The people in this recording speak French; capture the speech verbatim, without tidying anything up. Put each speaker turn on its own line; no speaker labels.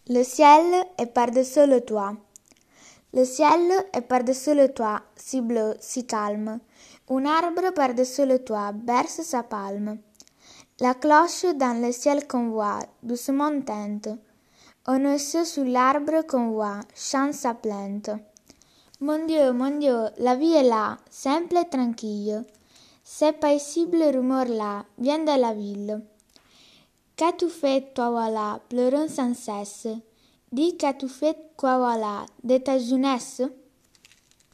Le ciel est par-dessus le toit. Le ciel est par-dessus le toit, si bleu, si calme. Un arbre par-dessus le toit berce sa palme. La cloche dans le ciel qu'on voit, doucement teinte. Un oiseau sous l'arbre qu'on voit chante sa plainte. Mon Dieu, mon Dieu, la vie est là, simple et tranquille. Ce paisible rumeur-là vient de la ville. Qu'as-tu fait, toi voilà, pleurant sans cesse? Dis, qu'as-tu fait, quoi voilà, de ta jeunesse?